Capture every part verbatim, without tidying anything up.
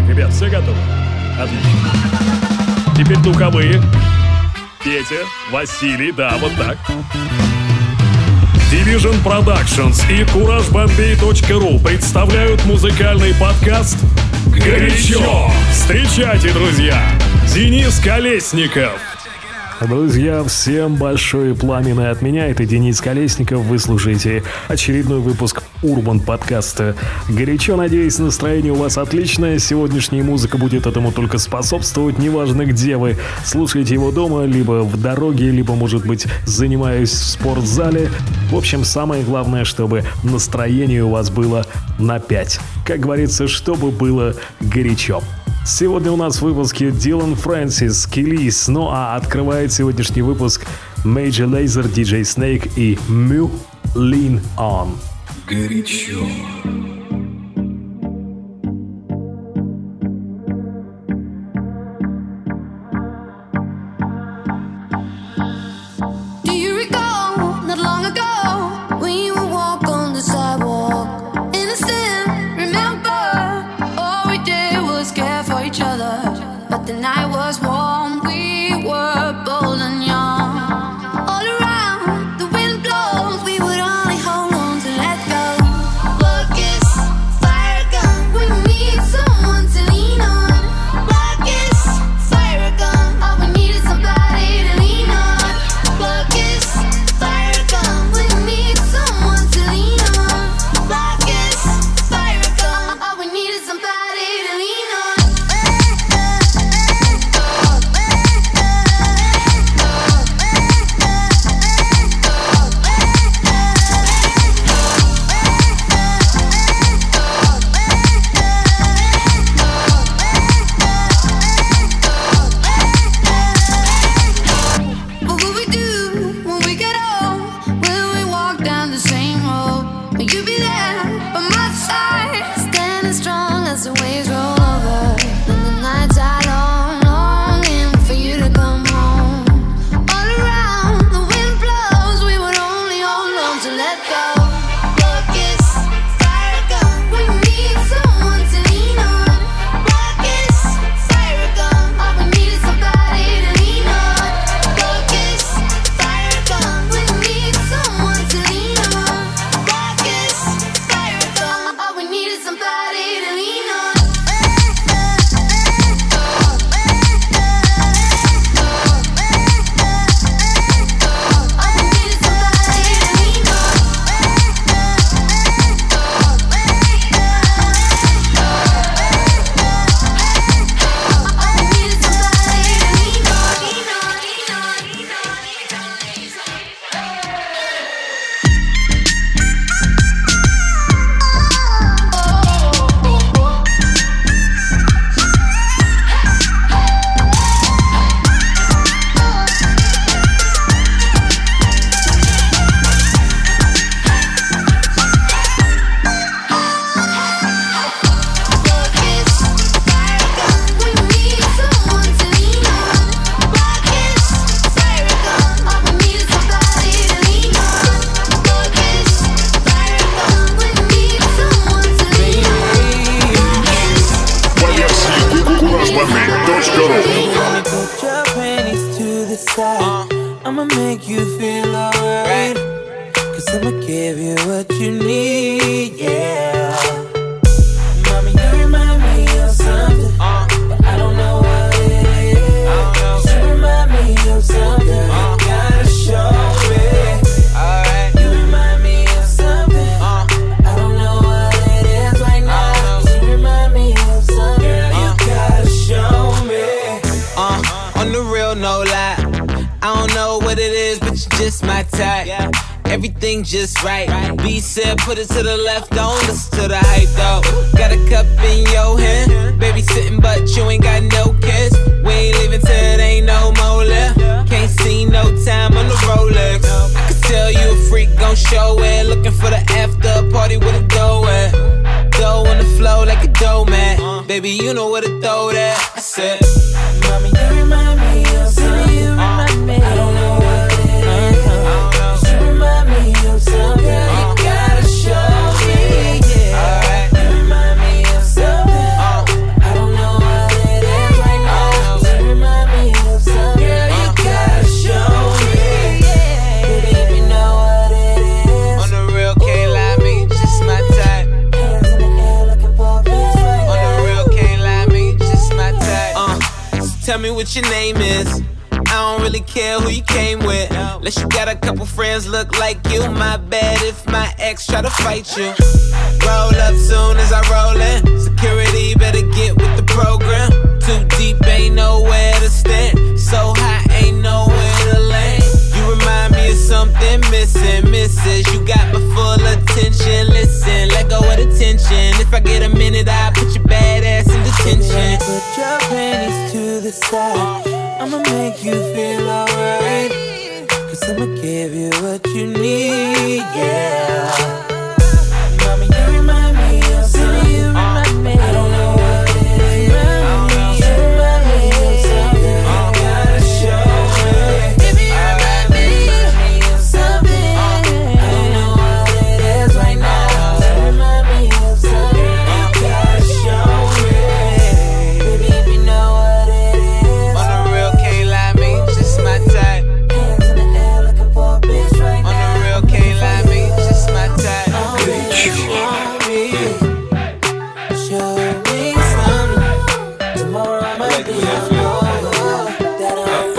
Ребят, все готовы? Отлично. Теперь духовые. Петя, Василий, да, вот так. Division Productions и кураж бомбей точка ру представляют музыкальный подкаст «Горячо». Встречайте, друзья, Денис Колесников. Друзья, всем большое пламенное от меня. Это Денис Колесников. Вы слушаете очередной выпуск Урбан подкаста «Горячо». Надеюсь, настроение у вас отличное. Сегодняшняя музыка будет этому только способствовать. Неважно, где вы слушаете его дома, либо в дороге, либо, может быть, занимаясь в спортзале. В общем, самое главное, чтобы настроение у вас было на пять. Как говорится, чтобы было горячо. Сегодня у нас в выпуске Дилан Фрэнсис, Kelis, ну а открывает сегодняшний выпуск Major Lazer, диджей Snake и Mew, Lean On. Горячо. The night was warm, we were bold and young. All around, the wind blows, we would only hold on to let go. Focus, fire gun, we need someone to lean on. Focus, fire gun, all we need is somebody to lean on. Focus, fire gun, we need someone to lean on. Focus, fire gun, all we need is somebody to lean on. I'ma make you feel alright, cause I'ma give you what you need, yeah. Mommy, you remind me of something, but I don't know what it is. You remind me of something, you gotta show me. You remind me of something, I don't know what it is right now. You remind me of something, you gotta show me. Uh, on the real, no lie, I don't know what it is, but you're just my type. Everything just right. B said put it to the left, don't listen to the hype though. Got a cup in your hand, baby sitting but you ain't got no kiss. We ain't leaving till it ain't no more left. Can't see no time on the Rolex. I can tell you a freak gon' show it. Looking for the after party with a dough at. Dough on the flow like a dough man. Baby you know where to throw that. I said, mommy you remind me of something. You remind me. I don't know what it is. You remind me of something. You gotta show me. Yeah. You remind me of something. I don't know tell me what your name is. I don't really care who you came with. Unless you got a couple friends look like you. My bad if my ex try to fight you. Roll up soon as I roll in. Security better get with the program. Too deep, ain't nowhere to stand. So high, ain't nowhere to land. You remind me of something missing, missus. You got my full attention. Listen, let go of the tension. If I get a minute, I'll put your bad ass in detention. Put your panties to the side. I'ma make you feel alright. Cause I'ma give you what you need, yeah. Mommy, you remind me of something. You remind me. I don't know what it is. You remind me of something. I gotta show it. Baby, you remind me of something. I don't know what it is right now. You remind me of something. I gotta show it. Baby, if you know what it is. On the real, can't lie, me, just my type. Hands in the air looking for a bitch right now. On the real, can't lie, me, just my type. Show me something. Tomorrow I might be over. That I'll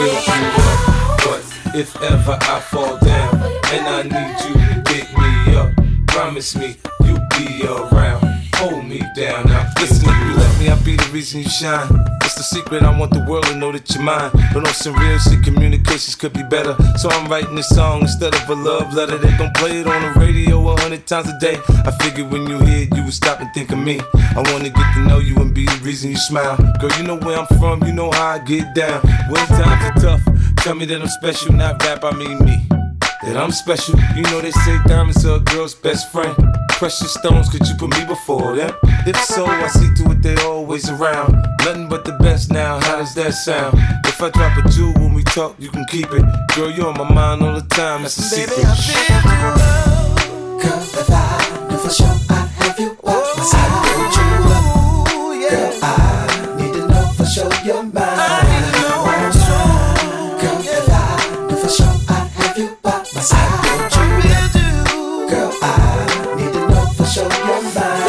be. But if ever I fall down and I need you to pick me up, promise me you'll be around. Hold me down now. Listen, if you let me, I'll be the reason you shine. It's the secret, I want the world to know that you're mine. But on some real shit, communications could be better. So I'm writing this song instead of a love letter. They gon' play it on the radio a hundred times a day. I figured when you hear it, you would stop and think of me. I wanna get to know you and be the reason you smile. Girl, you know where I'm from, you know how I get down. When times are tough, tell me that I'm special, not rap, I mean me. That I'm special, you know they say diamonds are a girl's best friend. Precious stones, could you put me before them? If so, I see to it they always around. Nothing but the best now, how does that sound? If I drop a jewel when we talk, you can keep it. Girl, you're on my mind all the time, that's a secret. Baby, I feel you love. Girl, if I knew for sure I'd have you by my side, don't you love? Girl, I need to know for sure you're mine. I need to know for sure. Girl, if I knew for sure I'd have you by my side, don't you love? Girl, I need to know for sure you're mine.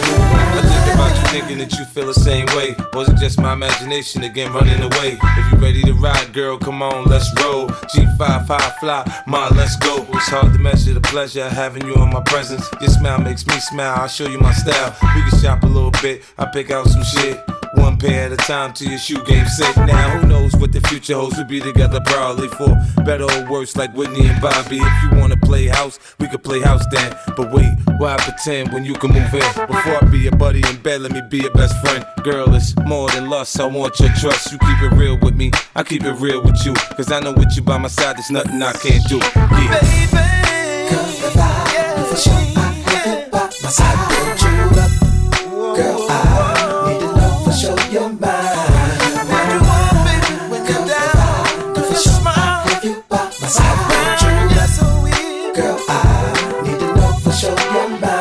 I think about you thinking that you feel the same way. Or is it just my imagination again running away? If you ready to ride, girl, come on, let's roll. G five, high fly, ma, let's go. It's hard to measure the pleasure of having you in my presence. Your smile makes me smile, I'll show you my style. We can shop a little bit, I pick out some shit. One pair at a time till your shoe game set. Now who knows what the future holds? We'll be together probably for better or worse, like Whitney and Bobby. If you wanna play house, we could play house then. But wait, why pretend when you can move in? Before I be your buddy in bed, let me be your best friend. Girl, it's more than lust, I want your trust. You keep it real with me, I keep it real with you. Cause I know with you by my side, there's nothing I can't do. Yeah. Baby, girl, if I knew for sure I'd have you by my side, don't you love? Girl, I need to know for sure you're mine. When you want, baby, when you're down, girl, for sure I'd have you by my side, don't you love? Girl, I need to know for sure you're mine.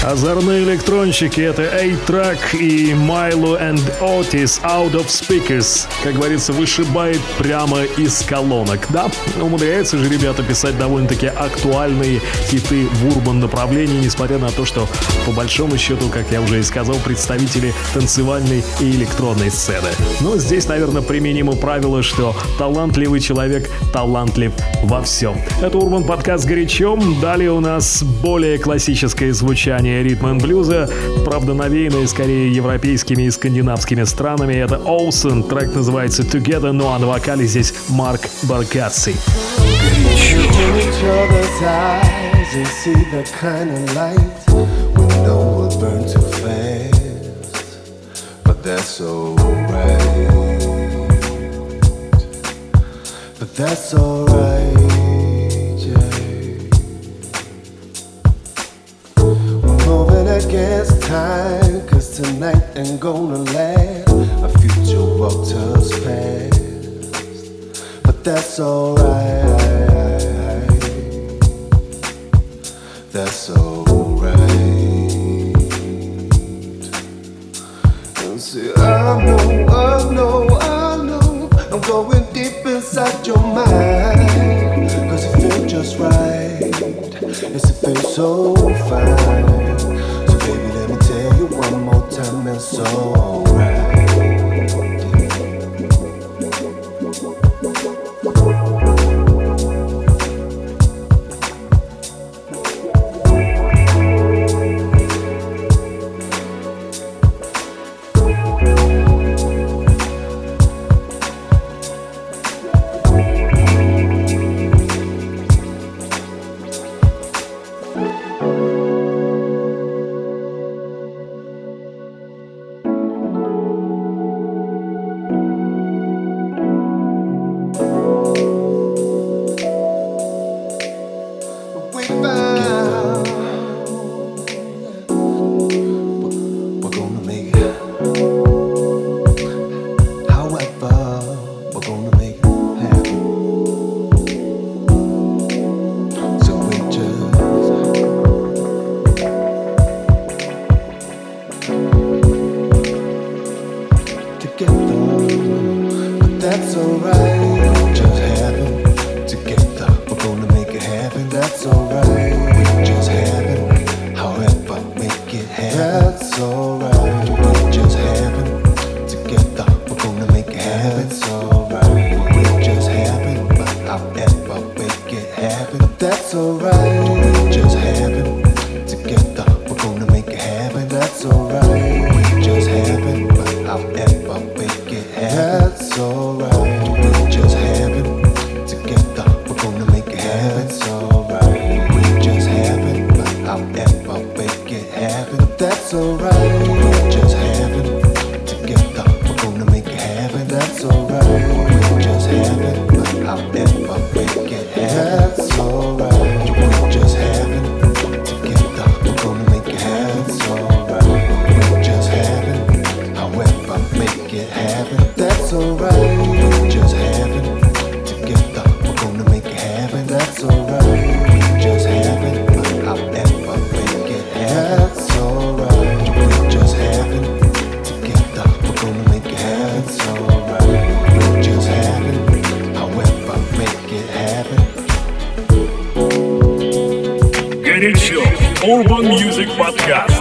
Озорные электронщики — это A-Track и Milo and Otis Out of Speakers. Как говорится, вышибает прямо из колонок. Да, умудряются же ребята писать довольно-таки актуальные хиты в урбан направлении, несмотря на то, что по большому счету, как я уже и сказал, представители танцевальной и электронной сцены. Но здесь, наверное, применимо правило, что талантливый человек талантлив во всем. Это урбан подкаст «Горячо». Далее у нас более классическое звучание ритм энд блюза, правда новейное скорее европейскими и скандинавскими странами. Это Ocean, трек называется Together, ну а на вокале здесь Марк Баркаци. Against time, cause tonight ain't gonna last. Our future walked us past, but that's alright. That's alright. And see, I know, I know, I know, I'm going deep inside your mind, cause it feels just right. Yes, it feels so fine. Baby, let me tell you one more time, it's alright. Urban Music Podcast.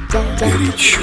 Горячо.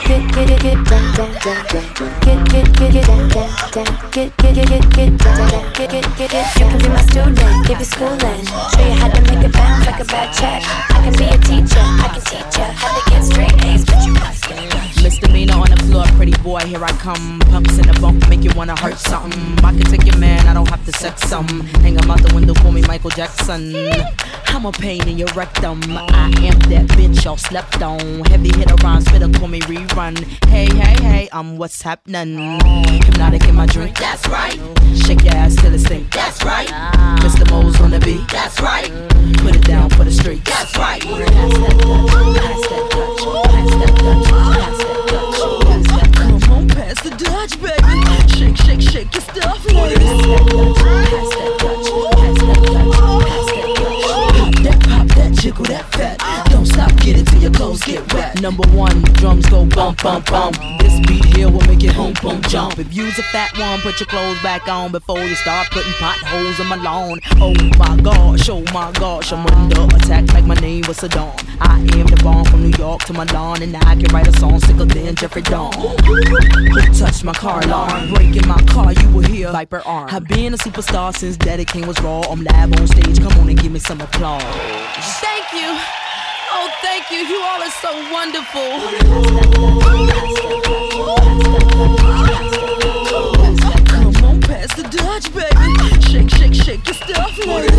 You can be my student, give you schooling, show you how to make it bounce like a bad check. I can be a teacher, I can teach you how to get straight A's, but you must get it right. Misdemeanor on the floor, pretty boy, here I come. Pumps in the bump, make you wanna hurt something. I can take your man, I don't have to sex some. Hang him out the window, call me Michael Jackson. I'm a pain in your rectum. I am that bitch y'all slept on. Heavy hitter rhymes, spitter, call me rerun. Hey, hey, hey, I'm what's happening. Hypnotic in my drink, that's right. Shake your ass till it stink, that's right. Mister Mo's on the beat, that's right. Put it down for the street, that's right. Pass that Dutch, pass that Dutch, pass that Dutch, pass that Dutch. Come on, pass the Dutch, baby. Shake, shake, shake your stuff, ladies. Pass that Dutch, pass that Dutch, pass that Dutch, pass that Dutch. Pop that, pop that, jiggle that fat. Don't stop, get it till your clothes get wet. Number one, drums go bump, bump, bump. This beat here will make it boom, boom, jump. If you's a fat one, put your clothes back on before you start putting potholes in my lawn. Oh my gosh, oh my gosh, I'm under attack like my name was Saddam. I am the bomb from New York to Milan, and I can write a song sicker than Jeffrey Dawn. Who touched my car alarm? Breaking my car, you will hear Viper arm. I've been a superstar since Daddy King was raw. I'm live on stage, come on and give me some applause. Thank you. Oh, thank you. You all are so wonderful. Come on, pass the Dutch, baby. Shake, shake, shake your stuff, ladies.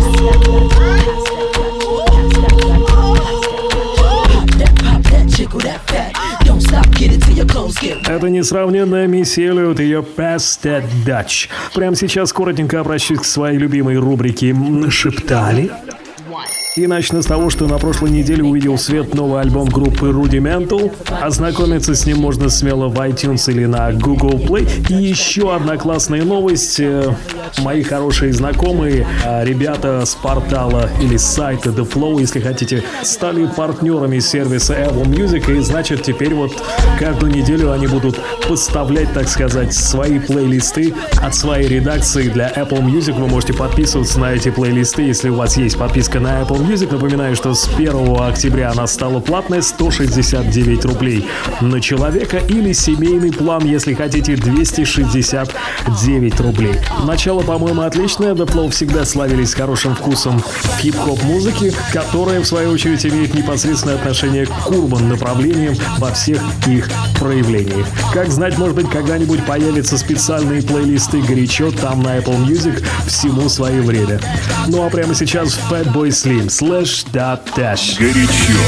Pop that, pop that, jiggle that fat. Don't stop, get it till your clothes get wet. Это несравненная Мисси Эллиот и ее Pass That Dutch. Прямо сейчас коротенько обращусь к своей любимой рубрике «Нашептали». И начну с того, что на прошлой неделе увидел свет новый альбом группы Rudimental. Ознакомиться с ним можно смело в iTunes или на Google Play. И еще одна классная новость. Мои хорошие знакомые, ребята с портала или с сайта The Flow, если хотите, стали партнерами сервиса Apple Music. И значит, теперь вот каждую неделю они будут поставлять, так сказать, свои плейлисты от своей редакции для Apple Music. Вы можете подписываться на эти плейлисты, если у вас есть подписка на Apple Music. Напоминаю, что с первого октября она стала платной, сто шестьдесят девять рублей на человека, или семейный план, если хотите, двести шестьдесят девять рублей. Начало, по-моему, отличное. The Flow всегда славились хорошим вкусом хип-хоп музыки, которая, в свою очередь, имеет непосредственное отношение к урбан направлениям во всех их проявлениях. Как знать, может быть, когда-нибудь появятся специальные плейлисты горячо там на Apple Music, всему свое время. Ну а прямо сейчас Fatboy Slim Slash Dot Dash. Горячо.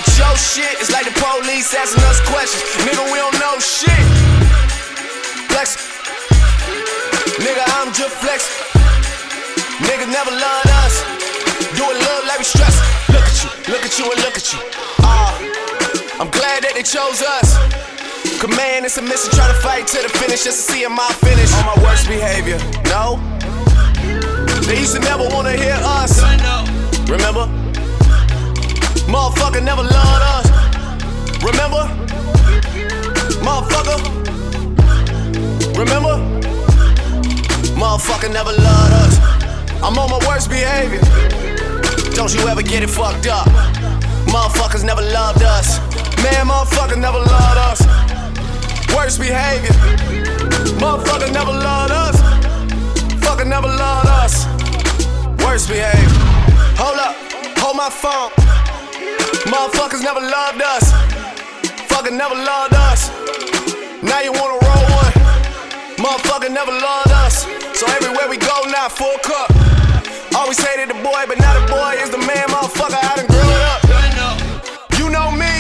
at your shit, it's like the police asking us questions. Nigga, we don't know shit. Flex. Nigga, I'm just flexing. Niggas never loved us. Do it love like we stress. Look at you, look at you, and look at you. Ah, uh, I'm glad that they chose us. Command and submission, try to fight to the finish just to see if my finish. On my worst behavior, no. They used to never wanna hear us. Remember? Motherfucker never loved us. Remember? Motherfucker. Remember? Motherfucker never loved us. I'm on my worst behavior. Don't you ever get it fucked up. Motherfuckers never loved us. Man, motherfucker never loved us. Worst behavior. Motherfucker never loved us. Fucker never loved us. Worst behavior. Hold up, hold my phone. Motherfuckers never loved us. Fucker never loved us. Now you wanna roll one. Motherfucker never loved us. So everywhere we go now, full cup. Always hated the boy, but now the boy is the man. Motherfucker, I done grew up. You know me.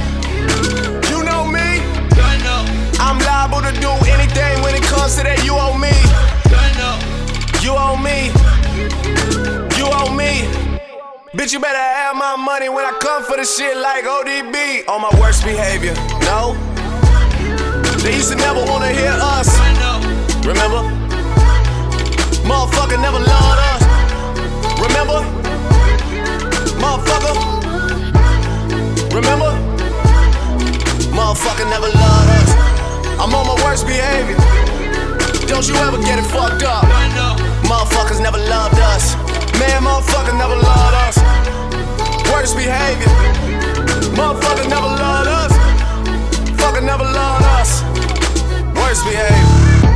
You know me. I'm liable to do anything when it comes to that. You owe me. You owe me. You owe me. Bitch, you better have my money when I come for the shit like O D B. On my worst behavior, no. They used to never wanna hear us. Remember? Motherfucker never loved us. Remember? Motherfucker. Remember? Motherfucker never loved us. I'm on my worst behavior. Don't you ever get it fucked up. Motherfuckers never loved us. Man, motherfucker never loved us. Worst behavior. Motherfucker never loved us. Fucker never loved us. Worst behavior.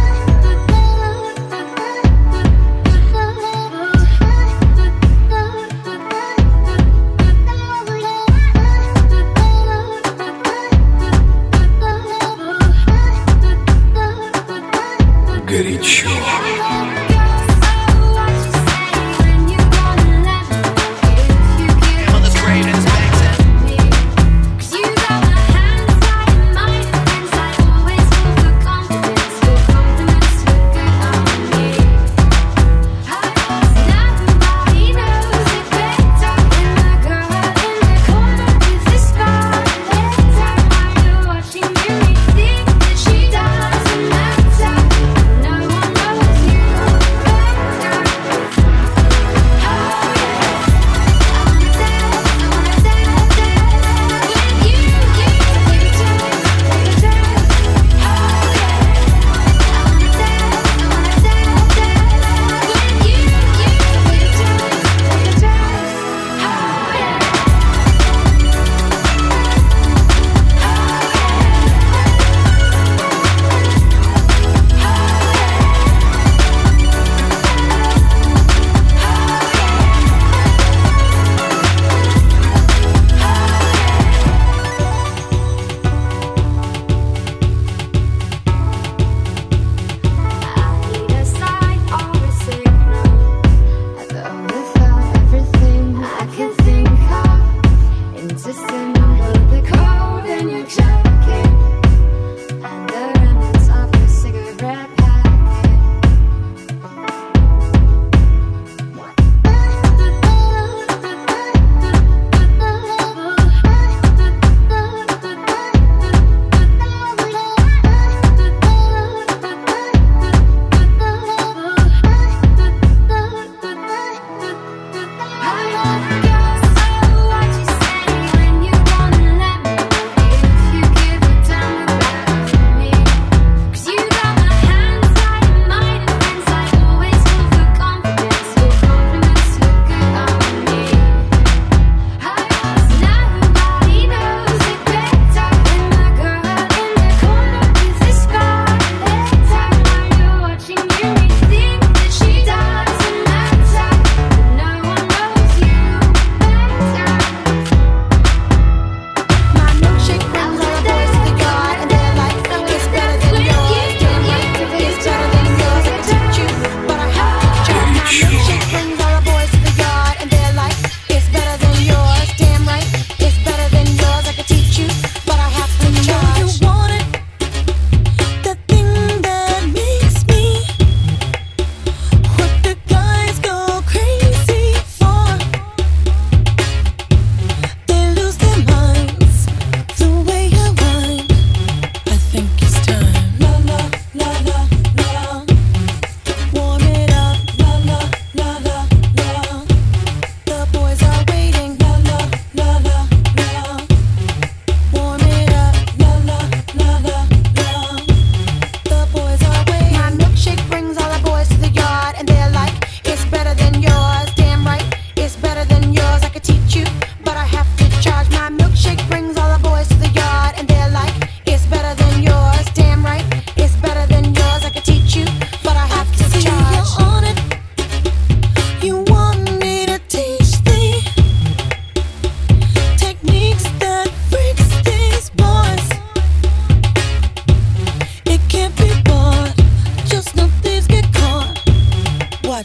Горячо. Cause you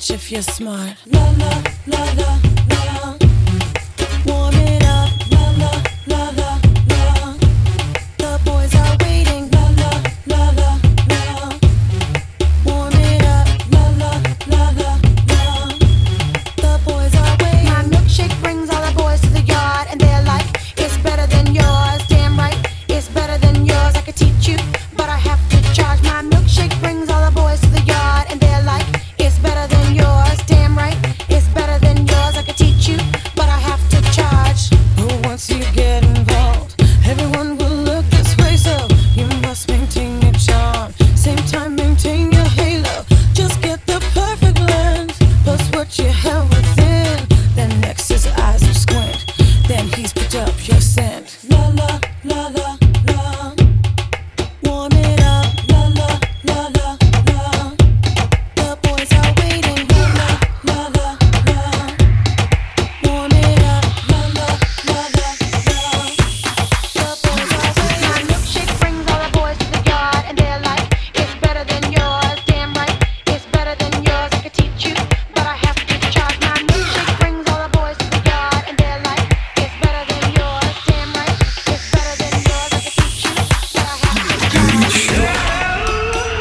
bitch if you're smart. La la la la la. Warm it up. La la la la la. The boys are waiting. La la la la la. Warm it up. La la la la la. The boys are waiting. My milkshake brings all the boys to the yard, and they're like, it's better than yours. Damn right, it's better than yours. I could teach you, but I have to charge. My milkshake brings all the boys to the yard, and they're like, it's better than yours. Damn right, it's better than yours. I could teach you, but I have to charge. Oh, once you get involved, everyone will look this way, so you must maintain your charm. Same time, maintain your halo. Just get the perfect blend, plus what you have within. Then next his eyes will squint, then he's picked up your scent. La la la la la. Warm it up. La la la la la. The boys are waiting. La la la la la. Warm it up. La la la la la. The boys are waiting. My milkshake brings all the boys to the yard, and they're like, it's better than yours. Damn right, it's better than yours. I could teach you, but I have to charge. My milkshake brings all the boys to the yard, and they're like, it's better than yours. Damn right, it's better than yours. I could teach you, but I have to charge.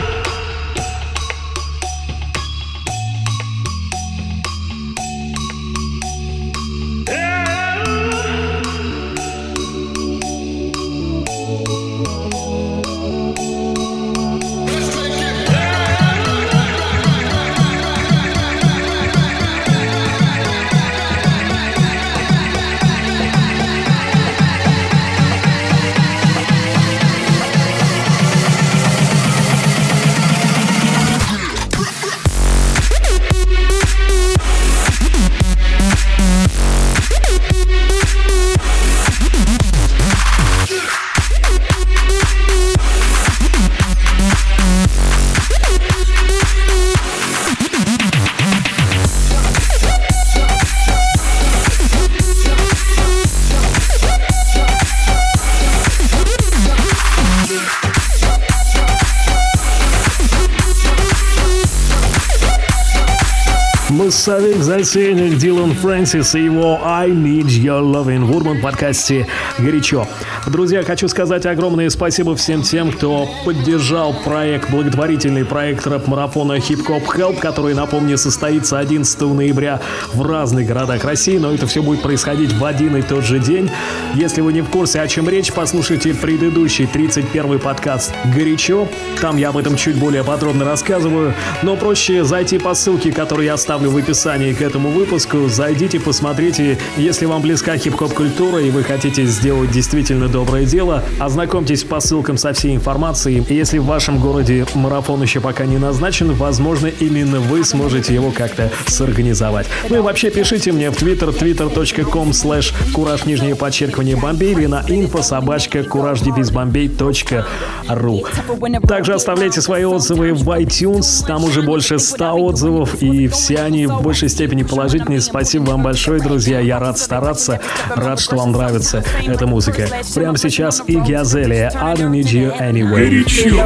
Массовик затейник Дилан Фрэнсис и его I Need Your Lovin' в Урбан подкасте «Горячо». Друзья, хочу сказать огромное спасибо всем тем, кто поддержал проект, благотворительный проект рэп-марафона Hip Hop Help, который, напомню, состоится одиннадцатого ноября в разных городах России, но это все будет происходить в один и тот же день. Если вы не в курсе, о чем речь, послушайте предыдущий тридцать первый подкаст «Горячо». Там я об этом чуть более подробно рассказываю, но проще зайти по ссылке, которую я оставлю в описании к этому выпуску. Зайдите, посмотрите. Если вам близка хип-хоп культура и вы хотите сделать действительно доброе дело, ознакомьтесь по ссылкам со всей информацией. И если в вашем городе марафон еще пока не назначен, возможно, именно вы сможете его как-то сорганизовать. Ну и вообще пишите мне в Twitter, twitter.com slash кураж нижнее подчеркивание Бомбей или на info собачка кураж девиз бомбей точка ру. Также оставляйте свои отзывы в iTunes, там уже больше ста отзывов, и все они в большей степени положительные. Спасибо вам большое, друзья, я рад стараться, рад, что вам нравится эта музыка. Прямо сейчас Игги Азалия, I don't need you anyway.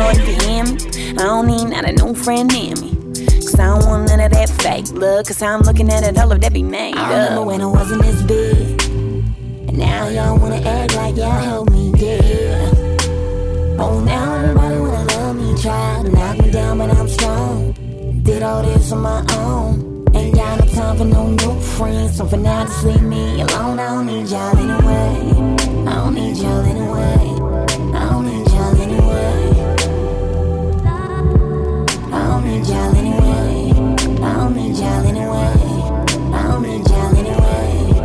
I don't need not a new friend near me. Cause I don't want none of that fake love. Cause I'm looking at it, all of that be made up. I remember when I wasn't this big, and now y'all wanna act like y'all help me dear. Oh, now everybody wanna love me, try to knock me down, but I'm strong. Did all this on my own. Ain't got no time for no new friends. So for now, just leave me alone. I don't need y'all anyway. I don't need y'all anyway. I don't need y'all anyway. I don't need y'all anyway. I don't need y'all anyway. I don't need y'all anyway.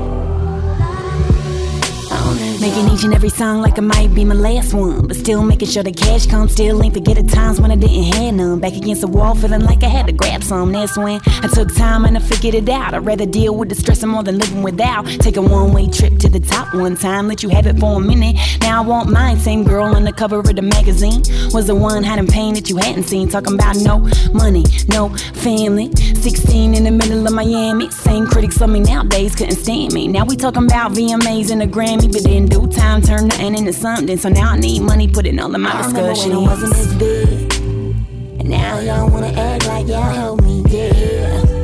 I don't need making each and every song like it might be my last one, but still making sure the cash comes. Still ain't forget the times when I didn't have none. Back against the wall, feeling like I had to grab some. That's when I took time and I figured it out. I'd rather deal with the stress more than living without. Take a one-way trip to the top one time, let you have it for a minute. Now I want mine. Same girl on the cover of the magazine was the one hiding pain that you hadn't seen. Talking about no money, no family. Sixteen in the middle of Miami. Same critics of me nowadays couldn't stand me. Now we talking about V M As and a Grammy, but in due time turn nothing into something. So now I need money, put it all in my I discussion. When I wasn't this big, and now y'all wanna act like y'all help me dear.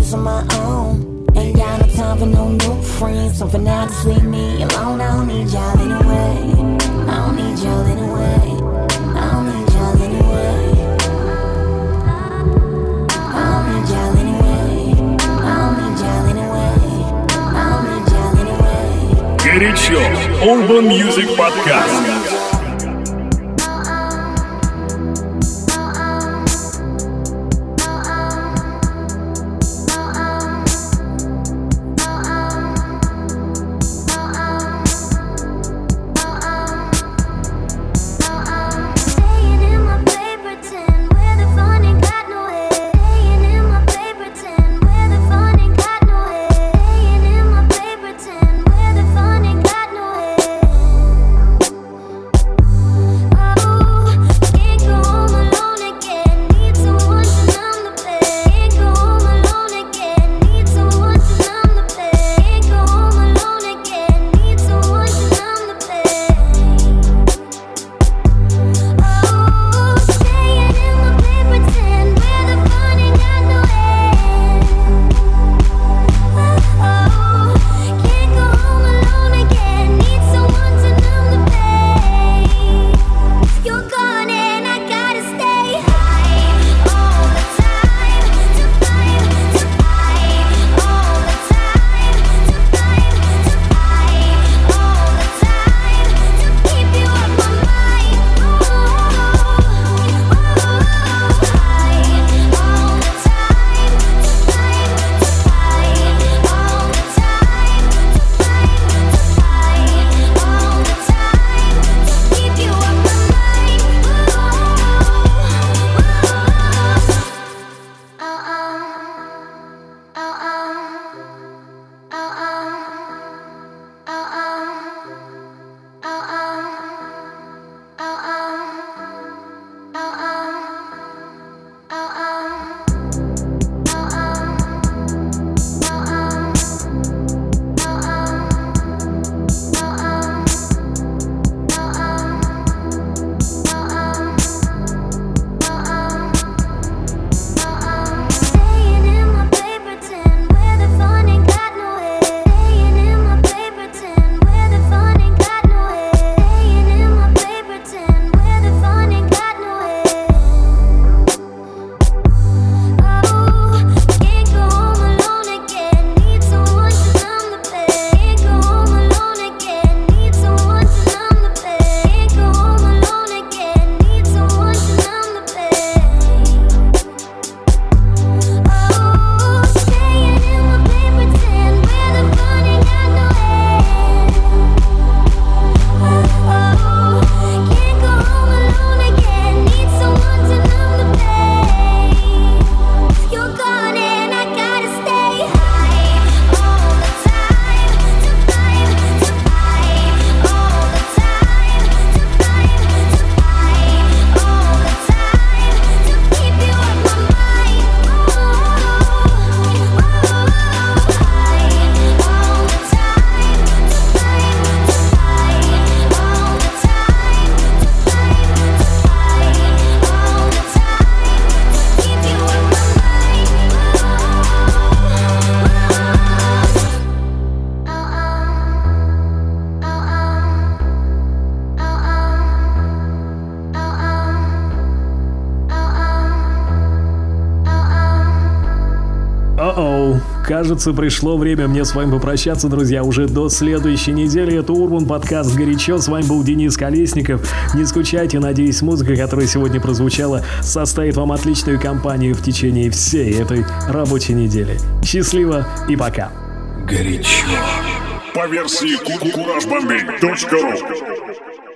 just on my own. Ain't got no time for no new friends. So for now, just leave me alone. I don't need y'all anyway. I don't need y'all anyway. I don't need y'all anyway. I don't need y'all anyway. I don't need y'all anyway. I don't need y'all anyway. Горячо. Urban Music Podcast. Кажется, пришло время мне с вами попрощаться, друзья, уже до следующей недели. Это Urban подкаст «Горячо». С вами был Денис Колесников. Не скучайте, надеюсь, музыка, которая сегодня прозвучала, составит вам отличную компанию в течение всей этой рабочей недели. Счастливо и пока. Горячо. По версии кураж бомбей точка ру.